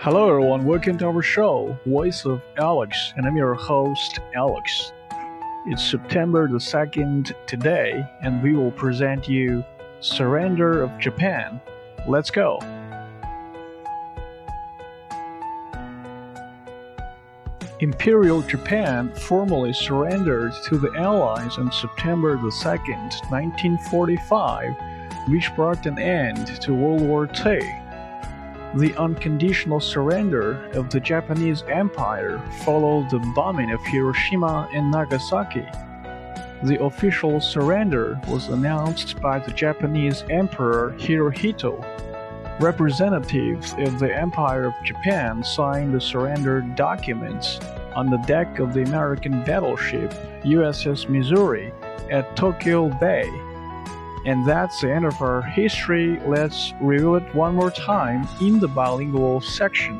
Hello everyone, welcome to our show, Voice of Alex, and I'm your host, Alex. It's September the 2nd today, and we will present you Surrender of Japan. Let's go! Imperial Japan formally surrendered to the Allies on September the 2nd, 1945, which brought an end to World War II. The unconditional surrender of the Japanese Empire followed the bombing of Hiroshima and Nagasaki. The official surrender was announced by the Japanese Emperor Hirohito. Representatives of the Empire of Japan signed the surrender documents on the deck of the American battleship USS Missouri at Tokyo Bay. And that's the end of our history. Let's review it one more time in the bilingual section.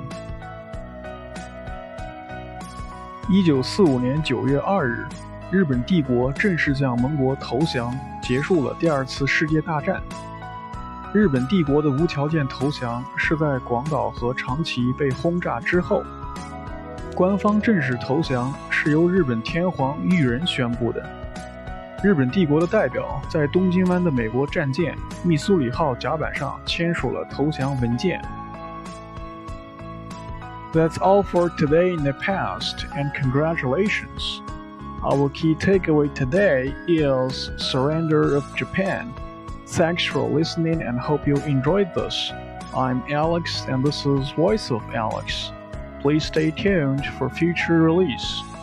1945年9月2日，日本帝国正式向盟国投降，结束了第二次世界大战。日本帝国的无条件投降是在广岛和长崎被轰炸之后。官方正式投降是由日本天皇裕仁宣布的。日本帝国的代表在东京湾的美国战舰密苏里号甲板上签署了投降文件。That's all for today in the past, and congratulations. Our key takeaway today is Surrender of Japan. Thanks for listening and hope you enjoyed this. I'm Alex and this is Voice of Alex. Please stay tuned for future release.